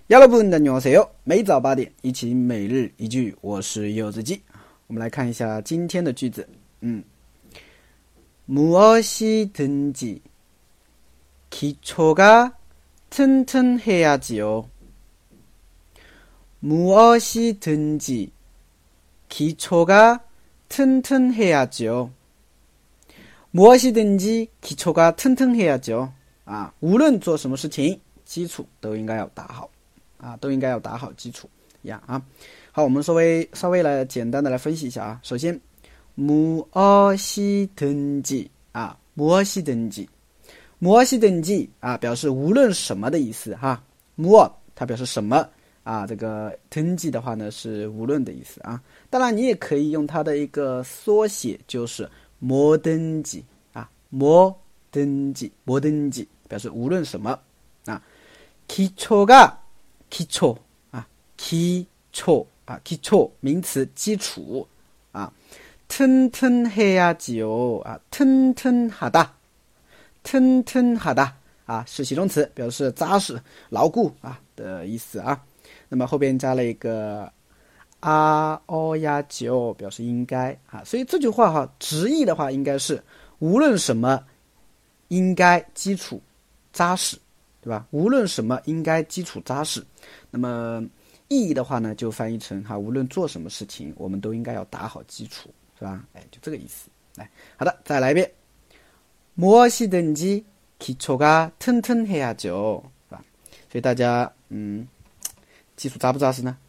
여러분 안녕하세요。每早8点，一起每日一句，我是柚子鸡。我们来看一下今天的句子。무엇이든지 기초가 튼튼해야지요. 무엇이든지 기초가 튼튼해야죠. 무엇이든지 기초가 튼튼해야죠. 无论做什么事情，基础都应该要打好。都应该要打好基础好，我们稍微来简单的来分析一下首先무엇이든지 무엇이든지表示无论什么的意思무엇它表示什么这个든지的话呢是无论的意思当然你也可以用它的一个缩写，就是뭐든지 뭐든지表示无论什么기초가 기초名词基础튼튼해야지요 튼튼하다是形容词，表示扎实牢固的意思那么后边加了一个야지요表示应该所以这句话直译的话应该是无论什么应该基础扎实，对吧？无论什么应该基础扎实。那么意义的话呢，就翻译成无论做什么事情，我们都应该要打好基础，是吧？就这个意思。好的，再来一遍。무엇이든지 기초가 튼튼해야죠，是吧？所以大家基础扎不扎实呢？